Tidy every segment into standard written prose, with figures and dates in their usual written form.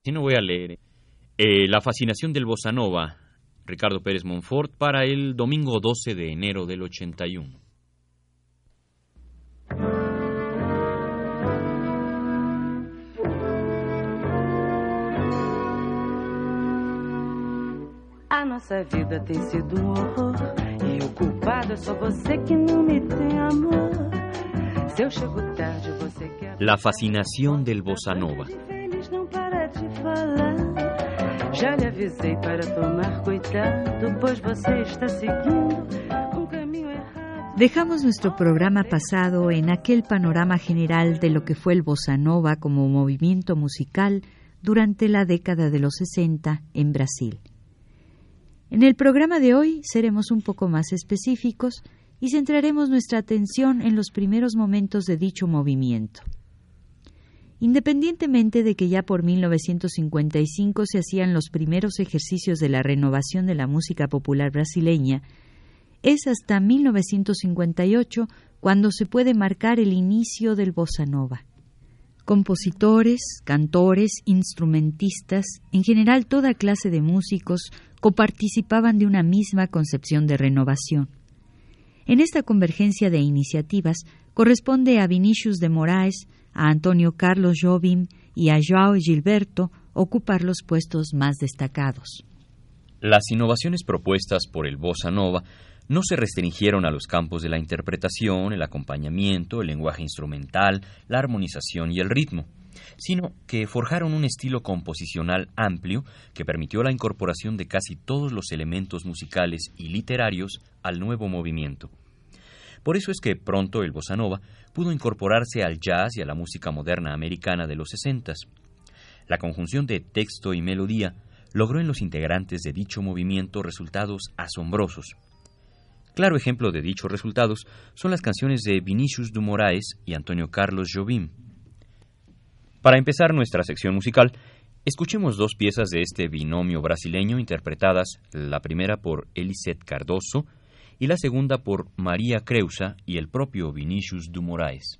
Si no voy a leer. La fascinación del bossa nova, Ricardo Pérez Monfort, para el domingo 12 de enero del 81. A nossa vida tem sido horror e o culpado é só você que não me tem amor. Se eu chego tarde, você quer... La fascinación del bossa nova. Não para de falar. Já lhe avisei para tomar cuidado, pois você está seguindo caminho errado. Dejamos nuestro programa pasado en aquel panorama general de lo que fue el bossa nova como movimiento musical durante la década de los 60 en Brasil. En el programa de hoy seremos un poco más específicos y centraremos nuestra atención en los primeros momentos de dicho movimiento. Independientemente de que ya por 1955 se hacían los primeros ejercicios de la renovación de la música popular brasileña, es hasta 1958 cuando se puede marcar el inicio del bossa nova. Compositores, cantores, instrumentistas, en general toda clase de músicos, coparticipaban de una misma concepción de renovación. En esta convergencia de iniciativas corresponde a Vinícius de Moraes, a Antonio Carlos Jobim y a João Gilberto ocupar los puestos más destacados. Las innovaciones propuestas por el bossa nova no se restringieron a los campos de la interpretación, el acompañamiento, el lenguaje instrumental, la armonización y el ritmo, sino que forjaron un estilo composicional amplio que permitió la incorporación de casi todos los elementos musicales y literarios al nuevo movimiento. Por eso es que pronto el bossa nova pudo incorporarse al jazz y a la música moderna americana de los 60. La conjunción de texto y melodía logró en los integrantes de dicho movimiento resultados asombrosos. Claro ejemplo de dichos resultados son las canciones de Vinícius de Moraes y Antonio Carlos Jobim. Para empezar nuestra sección musical, escuchemos dos piezas de este binomio brasileño interpretadas, la primera por Eliseth Cardoso y la segunda por María Creusa y el propio Vinícius de Moraes.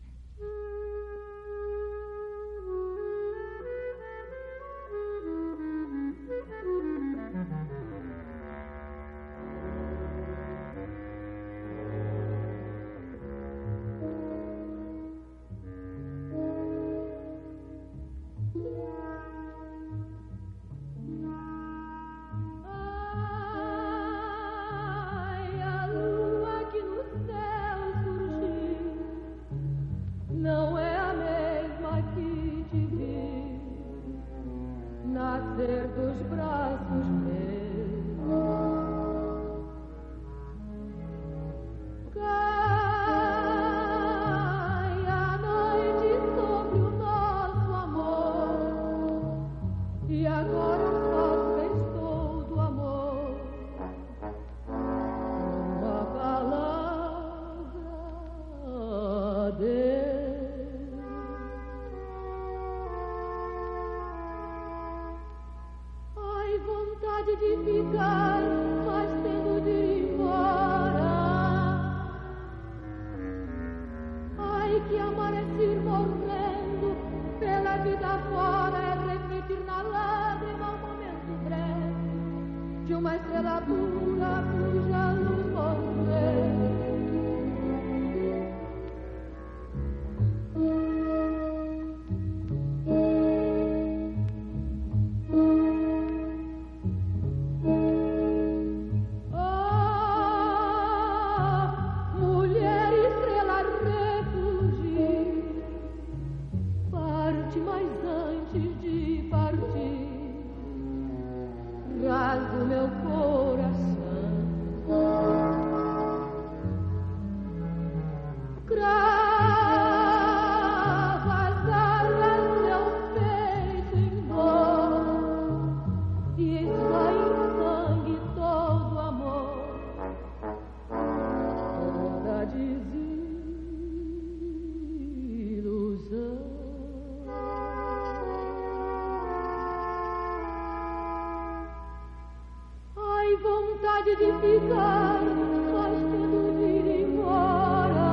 vontade de ficar, mas tendo de ir embora.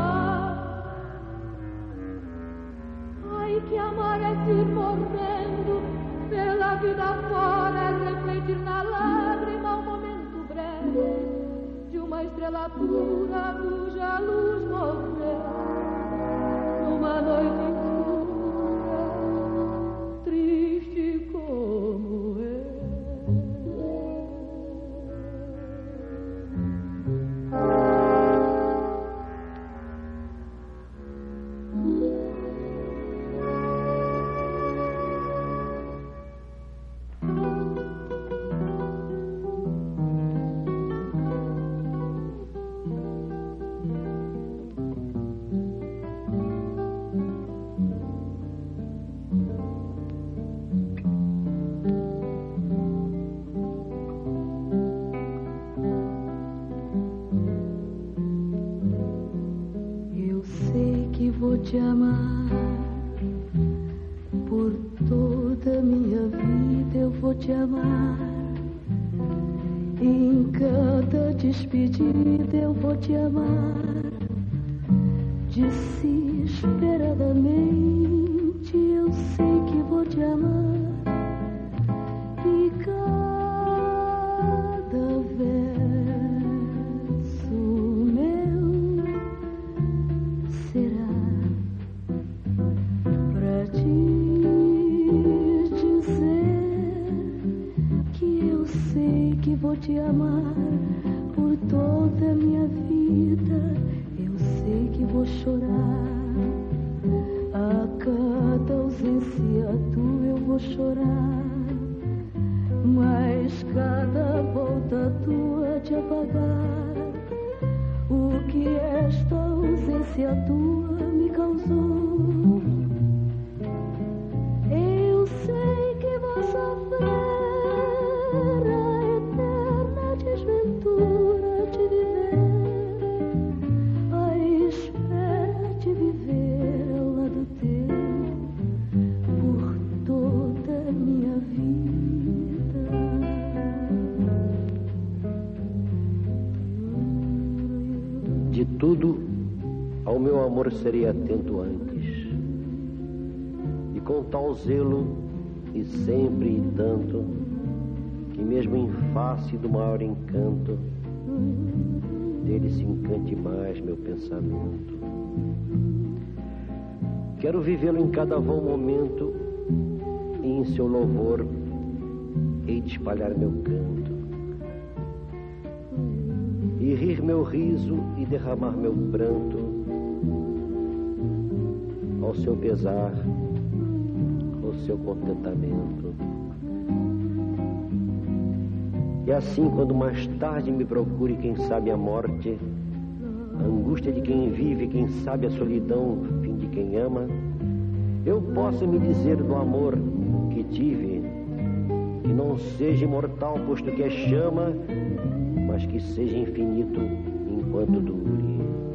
Ai, que amar é ir morrendo pela vida fora é refletir na lágrima um momento breve de uma estrela pura cuja luz morreu numa noite escura, triste como eu. Vou te amar por toda minha vida, eu vou te amar. Em cada despedida eu vou te amar, desesperadamente eu sei que vou te amar. E cada verso meu será vou te amar por toda a minha vida. Eu sei que vou chorar a cada ausência tua, eu vou chorar, mas cada volta tua de apagar o que esta ausência tua me causou. Eu sei que vou sofrer desventura de viver, à espera de viver ao lado teu por toda a minha vida. De tudo ao meu amor serei atento antes, e com tal zelo e sempre e tanto, que mesmo em face do maior encanto, dele se encante mais meu pensamento. Quero vivê-lo em cada vão momento, e em seu louvor hei de espalhar meu canto, e rir meu riso e derramar meu pranto, ao seu pesar, ao seu contentamento. E assim, quando mais tarde me procure, quem sabe a morte, a angústia de quem vive, quem sabe a solidão, fim de quem ama, eu possa me dizer do amor que tive, que não seja imortal, posto que é chama, mas que seja infinito enquanto dure.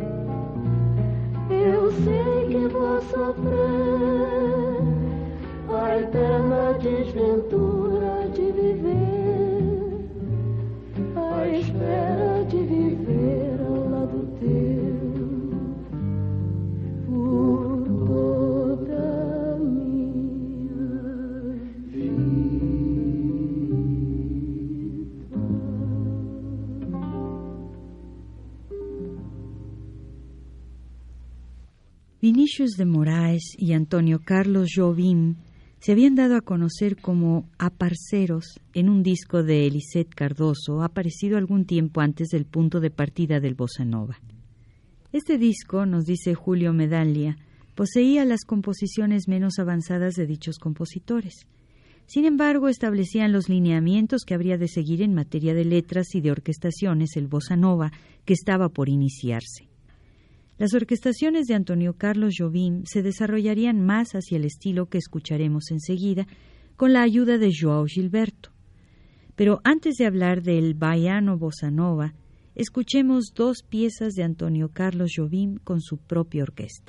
Eu sei que vou sofrer a eterna desventura de viver, à espera de viver ao lado teu por toda a minha vida. Vinícius de Moraes y Antonio Carlos Jobim se habían dado a conocer como aparceros en un disco de Eliseth Cardoso, aparecido algún tiempo antes del punto de partida del bossa nova. Este disco, nos dice Julio Medaglia, poseía las composiciones menos avanzadas de dichos compositores. Sin embargo, establecían los lineamientos que habría de seguir en materia de letras y de orquestaciones el bossa nova que estaba por iniciarse. Las orquestaciones de Antonio Carlos Jobim se desarrollarían más hacia el estilo que escucharemos enseguida, con la ayuda de João Gilberto. Pero antes de hablar del baiano bossa nova, escuchemos dos piezas de Antonio Carlos Jobim con su propia orquesta.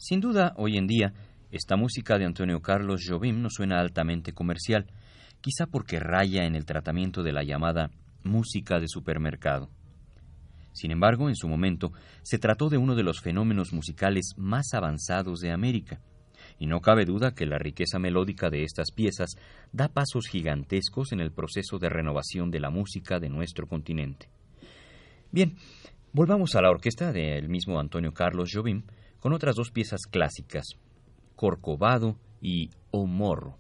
Sin duda, hoy en día, esta música de Antonio Carlos Jobim nos suena altamente comercial, quizá porque raya en el tratamiento de la llamada música de supermercado. Sin embargo, en su momento, se trató de uno de los fenómenos musicales más avanzados de América, y no cabe duda que la riqueza melódica de estas piezas da pasos gigantescos en el proceso de renovación de la música de nuestro continente. Bien, volvamos a la orquesta del mismo Antonio Carlos Jobim con otras dos piezas clásicas, Corcovado y O Morro.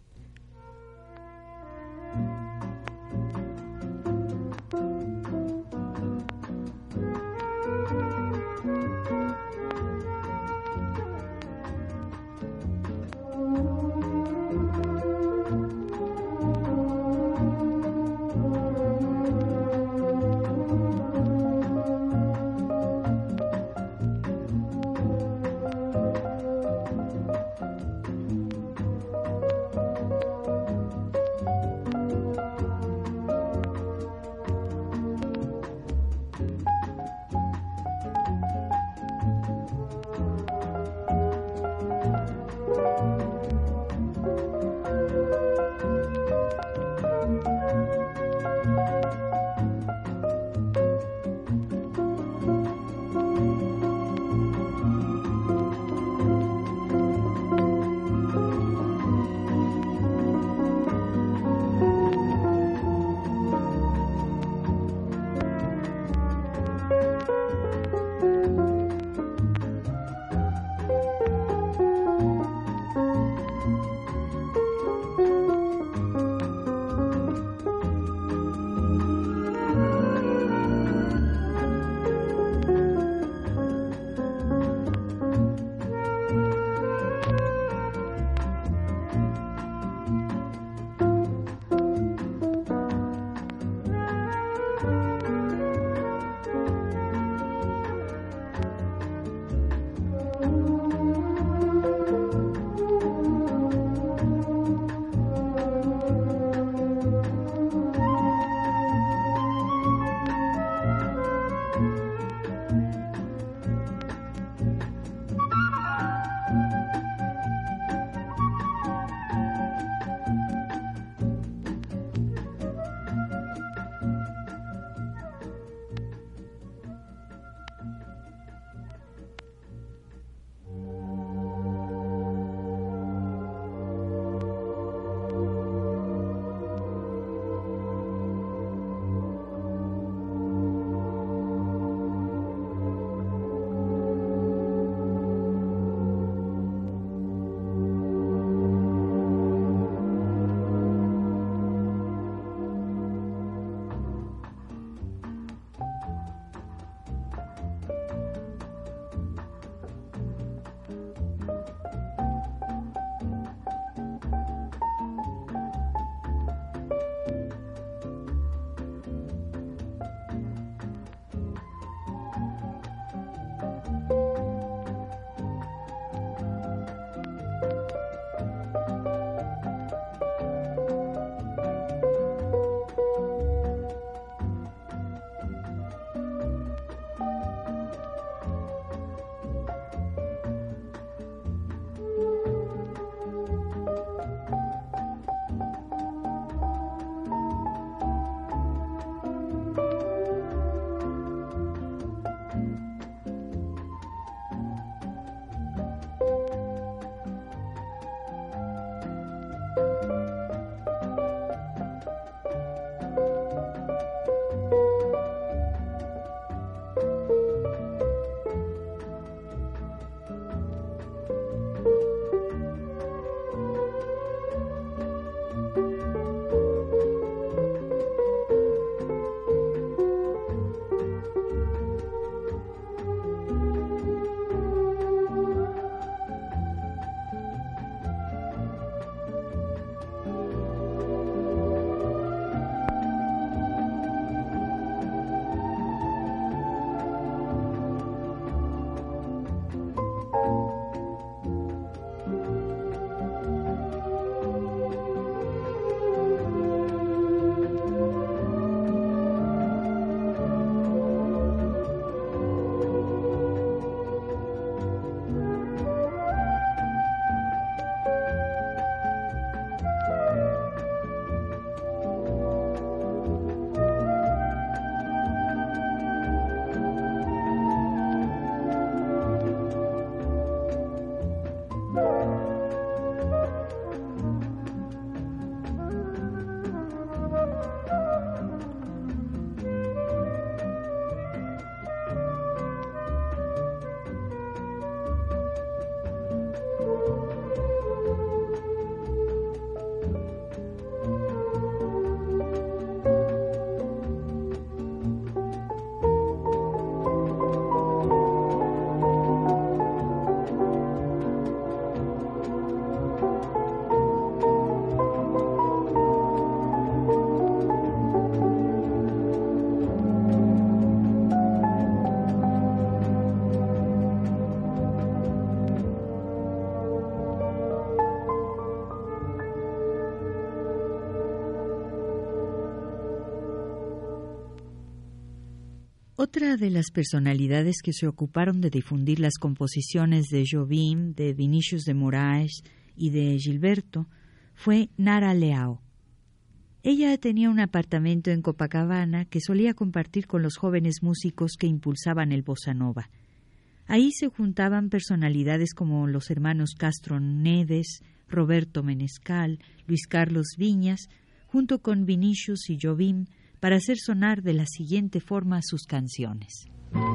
Otra de las personalidades que se ocuparon de difundir las composiciones de Jobim, de Vinícius de Moraes y de Gilberto fue Nara Leao. Ella tenía un apartamento en Copacabana que solía compartir con los jóvenes músicos que impulsaban el bossa nova. Ahí se juntaban personalidades como los hermanos Castro Neves, Roberto Menescal, Luis Carlos Viñas, junto con Vinícius y Jobim, para hacer sonar de la siguiente forma sus canciones.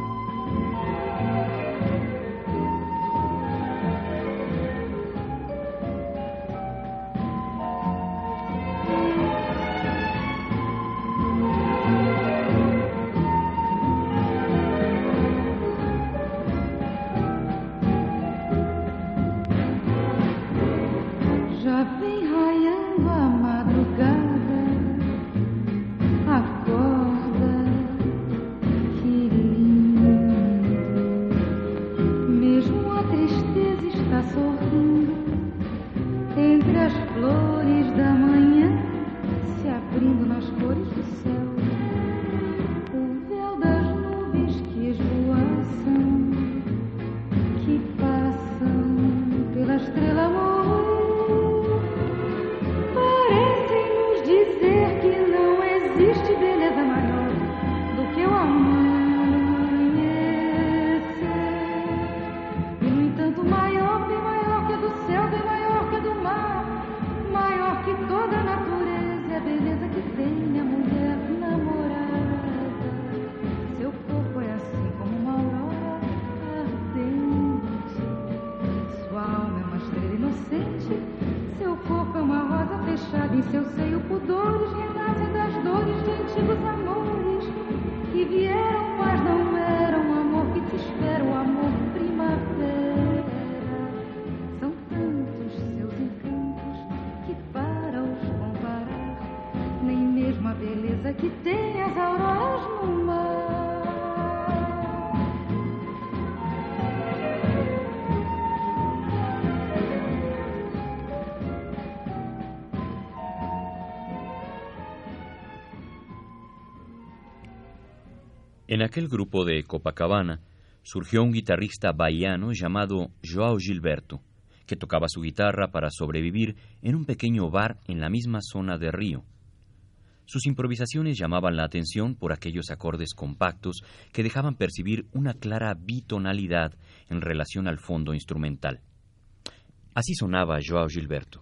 Já vem raiando a madrugada, acorda, que lindo. Mesmo a tristeza está sorrindo entre as flores da manhã, se abrindo nas cores do céu. O véu das nuvens que esvoaçam, que passam pela estrela amor. Dizer que não existe beleza maior do que o amanhecer. E no entanto maior, bem maior que a do céu, bem maior que a do mar, maior que toda a natureza, é a beleza que tem a mulher namorada. Seu corpo é assim como uma aurora ardente, sua alma é uma estrela inocente. Seu corpo é uma rosa fechada, em seu seio pudores renascem das dores de antigos amores que vieram, mas não eram o amor que te espera, o amor primavera. São tantos seus encantos que para os comparar, nem mesmo a beleza que tem as auroras no mar. En aquel grupo de Copacabana surgió un guitarrista bahiano llamado João Gilberto, que tocaba su guitarra para sobrevivir en un pequeño bar en la misma zona de Río. Sus improvisaciones llamaban la atención por aquellos acordes compactos que dejaban percibir una clara bitonalidad en relación al fondo instrumental. Así sonaba João Gilberto.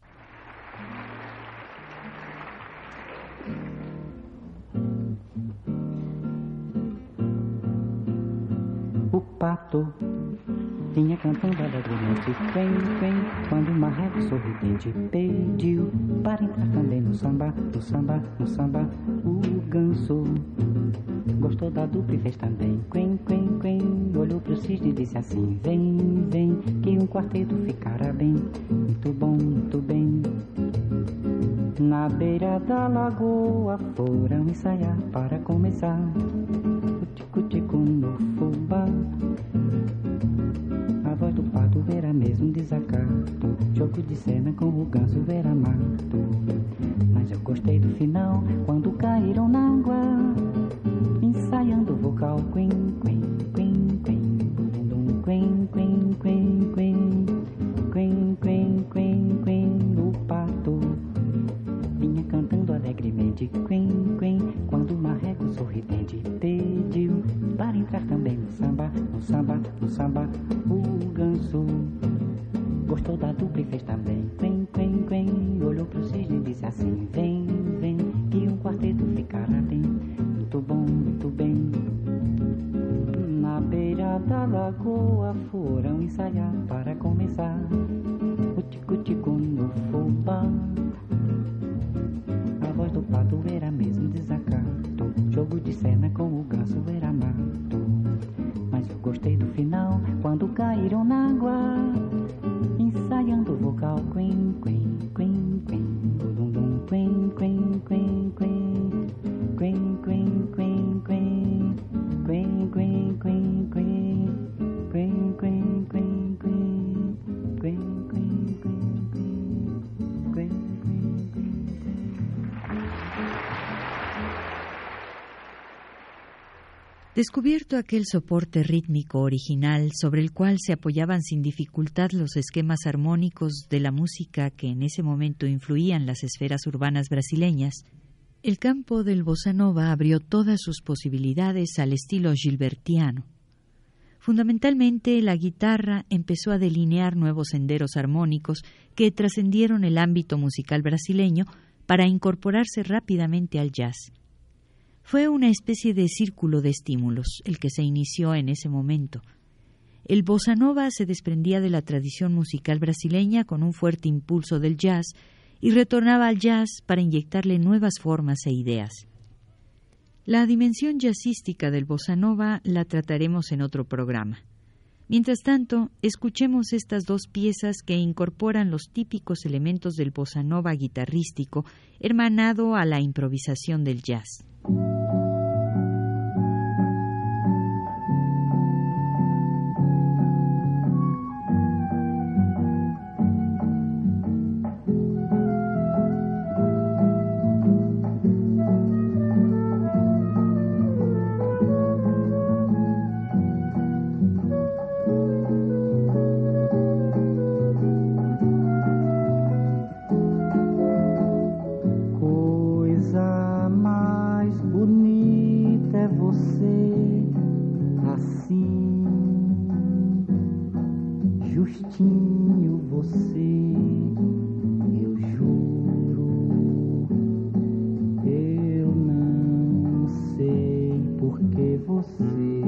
O pato vinha cantando alegremente, quem, quando o marreco sorridente pediu para entrar também no samba, no samba, no samba. O ganso gostou da dupla e fez também, quem, olhou pro cisne e disse assim, vem, que um quarteto ficará bem, muito bom, muito bem. Na beira da lagoa foram ensaiar para começar o tico-tico no fubá. A voz do pato era mesmo um desacato, jogo de cena com o ganso era mato. Mas eu gostei do final, quando caíram na água, ensaiando o vocal, quen, quen, quen, quen, dum, quen, quen, quen, quen, quen, quen, quen, quen. O pato vinha cantando alegremente, quen, quen, quando o marreco sorridente pediu para entrar também no samba, no samba, no samba. O ganso gostou da dupla e fez também, quen, quen, quen, olhou pro cisne e disse assim, vem, que um quarteto ficará bem, muito bom, muito bem. Na beira da lagoa foram ensaiar para começar o tico-tico no fubá. A voz do pato era mesmo desacato, jogo de cena com o ganso era mato. Mas eu gostei do final, quando caíram na água, ensaiando o vocal, quen, quen, quen, quen, dum, dum, quen, quen, quen, quen, quen, quen, quen, quen, quen, quen, quen, quen, quen, quen, quen, quen, quen, quen. Descubierto aquel soporte rítmico original sobre el cual se apoyaban sin dificultad los esquemas armónicos de la música que en ese momento influían las esferas urbanas brasileñas, el campo del bossa nova abrió todas sus posibilidades al estilo gilbertiano. Fundamentalmente, la guitarra empezó a delinear nuevos senderos armónicos que trascendieron el ámbito musical brasileño para incorporarse rápidamente al jazz. Fue una especie de círculo de estímulos el que se inició en ese momento. El bossa nova se desprendía de la tradición musical brasileña con un fuerte impulso del jazz y retornaba al jazz para inyectarle nuevas formas e ideas. La dimensión jazzística del bossa nova la trataremos en otro programa. Mientras tanto, escuchemos estas dos piezas que incorporan los típicos elementos del bossa nova guitarrístico, hermanado a la improvisación del jazz. Justinho, você, eu juro, eu não sei por que você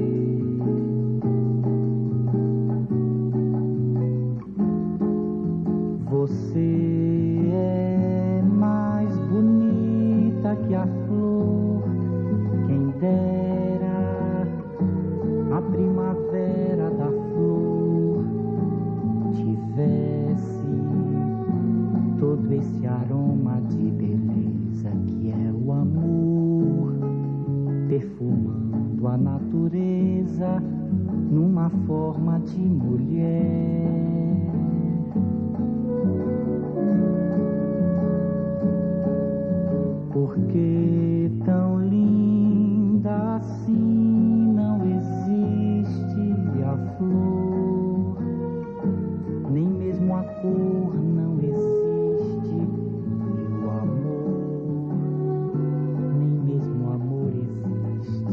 é mais bonita que a flor, quem dera a primavera da flor tivesse todo esse aroma de beleza que é o amor, perfumando a natureza numa forma de mulher. Porque tão linda assim não existe a flor, nem mesmo a cor não existe, e o amor, nem mesmo o amor existe.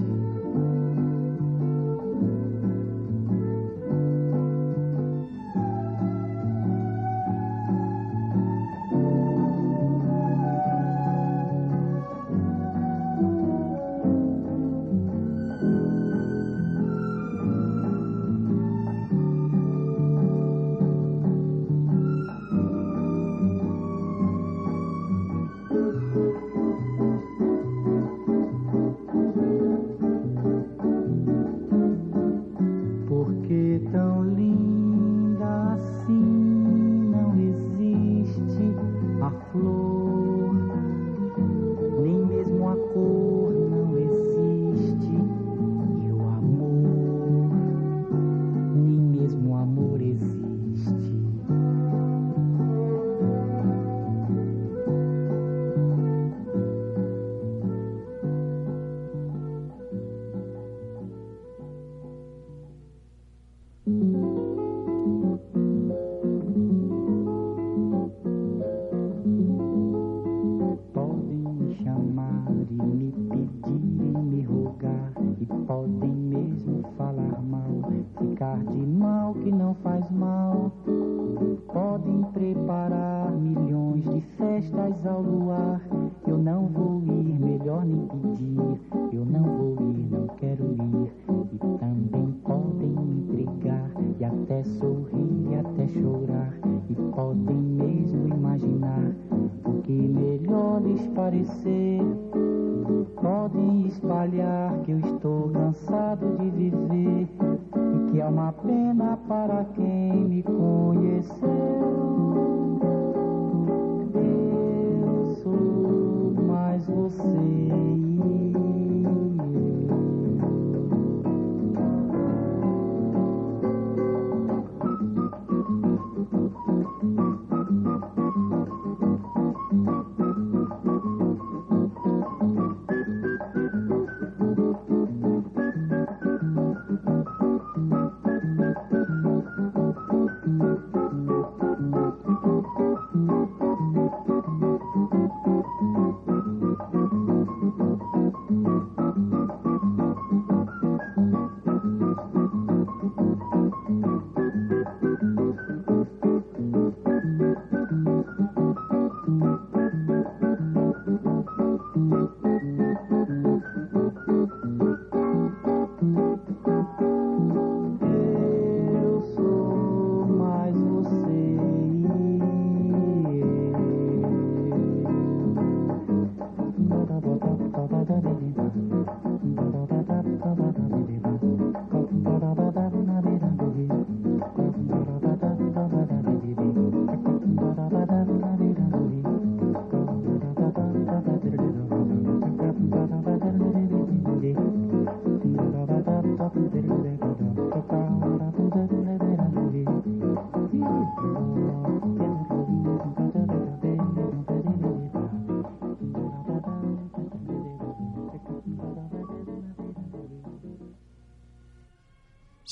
Porque tão linda assim não existe a flor, nem mesmo a cor não existe, e o amor, nem mesmo o amor existe. Podem me chamar e me pedir e me rogar, e podem mesmo falar mal, ficar de mal que não faz mal. Podem preparar milhões de festas ao luar, eu não vou ir, melhor nem pedir, eu não vou ir, não quero ir. E também podem me entregar, e até sorrir, e até chorar, e podem mesmo imaginar o que melhor lhes parecer. Podem espalhar que eu estou cansado de viver, e que é uma pena para quem me conheceu. Eu sou mais você e eu.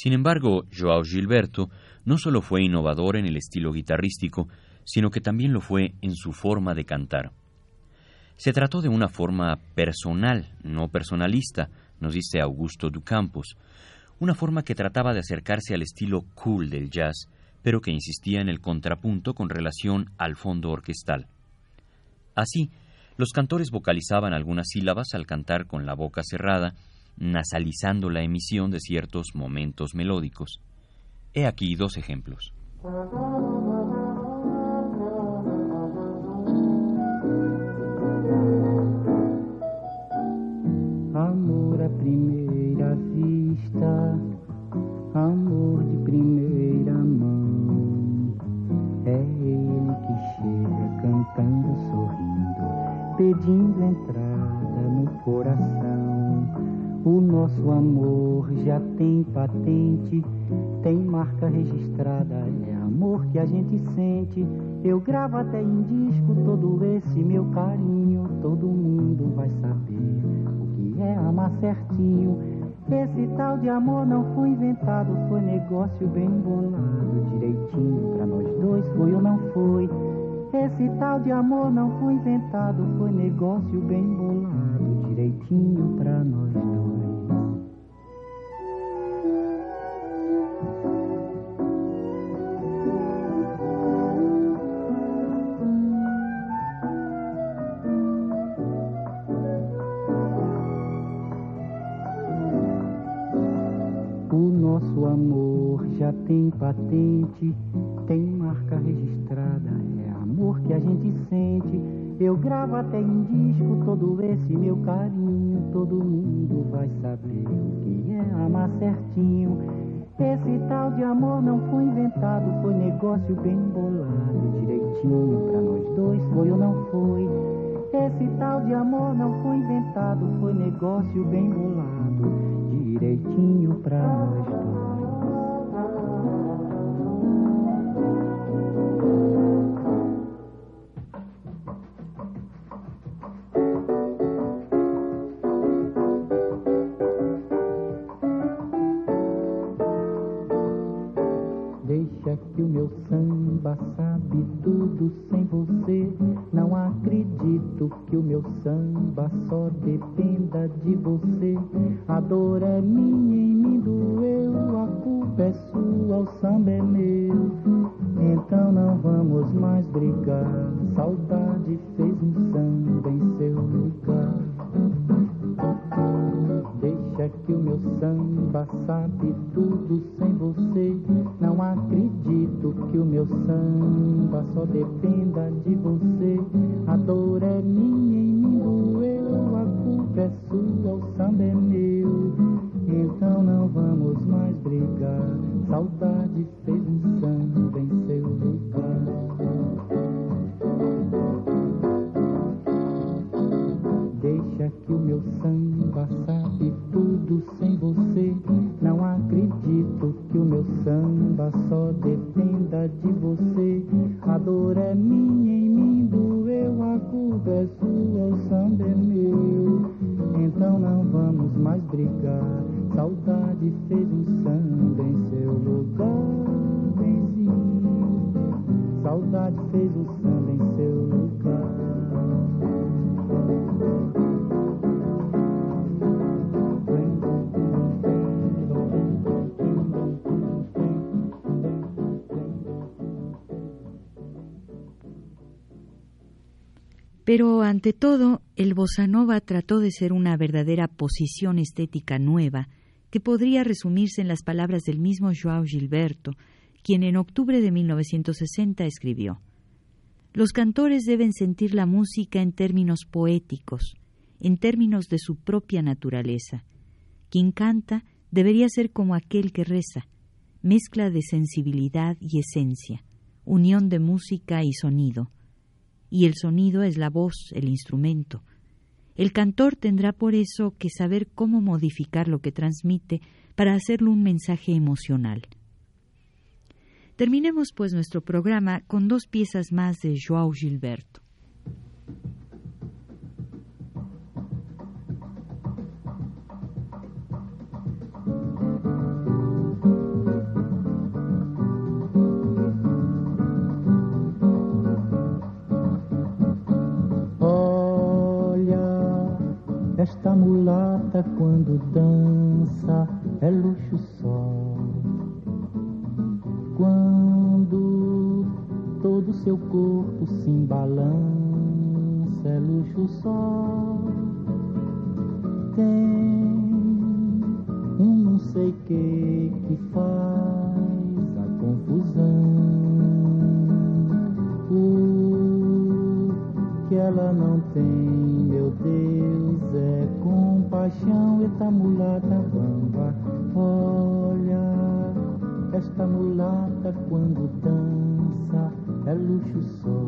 Sin embargo, João Gilberto no solo fue innovador en el estilo guitarrístico, sino que también lo fue en su forma de cantar. Se trató de una forma personal, no personalista, nos dice Augusto do Campos, una forma que trataba de acercarse al estilo cool del jazz, pero que insistía en el contrapunto con relación al fondo orquestal. Así, los cantores vocalizaban algunas sílabas al cantar con la boca cerrada, nasalizando la emisión de ciertos momentos melódicos. He aquí dos ejemplos. Amor à primeira vista, amor de primeira mão. É ele que chega cantando, sorrindo, pedindo entrada no coração. O nosso amor já tem patente, tem marca registrada, é amor que a gente sente. Eu gravo até em disco todo esse meu carinho, todo mundo vai saber o que é amar certinho. Esse tal de amor não foi inventado, foi negócio bem bolado, direitinho pra nós dois, foi ou não foi? Esse tal de amor não foi inventado, foi negócio bem bolado, direitinho pra nós dois. O nosso amor já tem patente, tem marca registrada, é amor que a gente sente. Eu gravo até em disco todo esse meu carinho, todo mundo vai saber o que é amar certinho. Esse tal de amor não foi inventado, foi negócio bem bolado, direitinho pra nós dois, foi ou não foi? Esse tal de amor não foi inventado, foi negócio bem bolado, direitinho pra nós dois. Deixa que o meu samba sabe tudo sem você. Não acredito que o meu samba só dependa de você. A dor é minha, em mim doeu, a culpa é sua, o samba é meu. Então não vamos mais brigar, saudade fez um samba em seu lugar. Deixa que o meu samba sabe tudo sem você. Não acredito que o meu samba só dependa de você. A dor é minha, em mim doeu, a culpa é sua, o samba é meu. Então não vamos mais brigar, saudade fez um samba em seu lugar. Deixa que o meu samba sabe tudo sem você. Não acredito que o meu samba só dependa de você. A dor é minha, em mim doeu, a culpa é sua, o samba é meu. Então não vamos mais brigar, saudade fez um samba em seu lugar, benzinho. Saudade fez um samba em seu lugar. Pero ante todo, el bossa nova trató de ser una verdadera posición estética nueva que podría resumirse en las palabras del mismo João Gilberto, quien en octubre de 1960 escribió: «Los cantores deben sentir la música en términos poéticos, en términos de su propia naturaleza. Quien canta debería ser como aquel que reza, mezcla de sensibilidad y esencia, unión de música y sonido. Y el sonido es la voz, el instrumento. El cantor tendrá por eso que saber cómo modificar lo que transmite para hacerlo un mensaje emocional». Terminemos pues nuestro programa con dos piezas más de João Gilberto. Esta mulata quando dança é luxo só. Quando todo seu corpo se embalança é luxo só. Tem não sei que faz a confusão. O que ela não tem, meu Deus, é compaixão. Eita mulata bamba, olha, esta mulata quando dança é luxo só.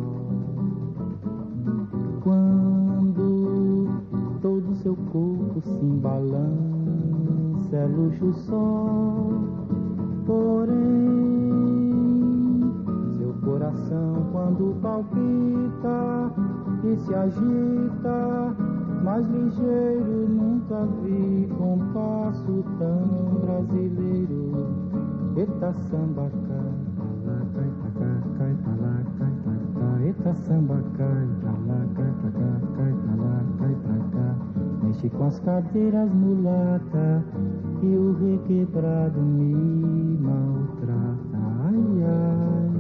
Quando todo seu corpo se embalança é luxo só. Porém, seu coração quando palpita e se agita, mais ligeiro nunca vi compasso tão brasileiro. Eita samba cai pra lá, cai pra cá. Eita samba cai pra lá, cai pra cá, cai pra lá, cai pra cá. Mexe com as cadeiras mulata e o requebrado me maltrata. Ai, ai.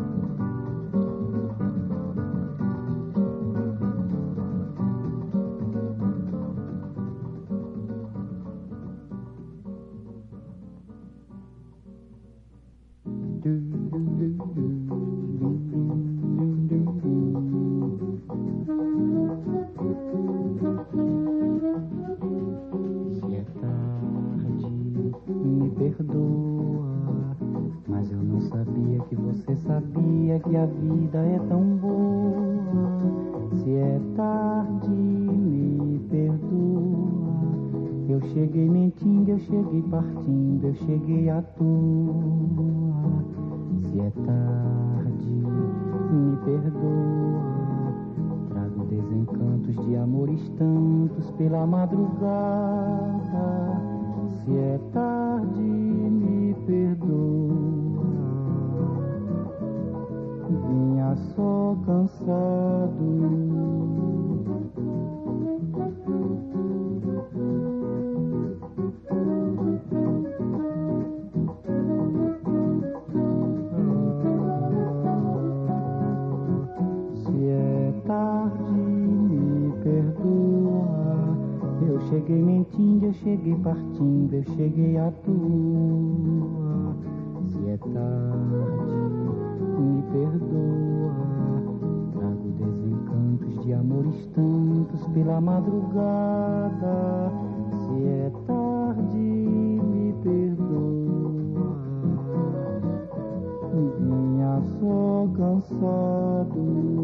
Que a vida é tão boa. Se é tarde, me perdoa. Eu cheguei mentindo, eu cheguei partindo, eu cheguei à toa. Se é tarde, me perdoa. Trago desencantos de amores tantos pela madrugada. Se é tarde, me perdoa. Vinha só cansado. Se é tarde, me perdoa. Eu cheguei mentindo, eu cheguei partindo, eu cheguei à toa. Se é tarde, me perdoa. Trago desencantos de amores tantos pela madrugada. Se é tarde, me perdoa. Vinha só cansado.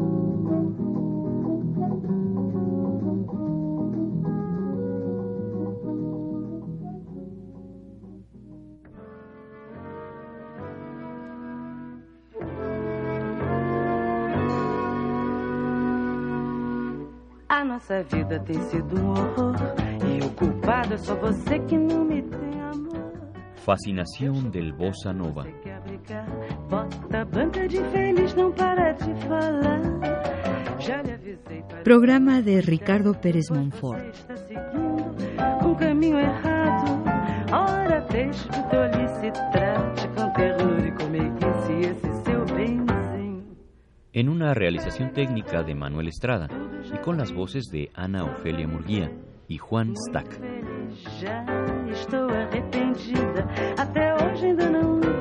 A nossa vida tem sido um horror e o culpado é só você que não me tem amor. Fascinación del Bossa Nova. Você quer brigar, bota a banca de infeliz, não para de falar. Já lhe avisei para... Programa de Ricardo Pérez Monfort. Você está seguindo um caminho errado. Ora, deixe de tolice, trate com ternura e com meiguice esse seu benzinho. En una realización técnica de Manuel Estrada y con las voces de Ana Ofelia Murguía y Juan Stack. Já estou arrependida, até hoje ainda não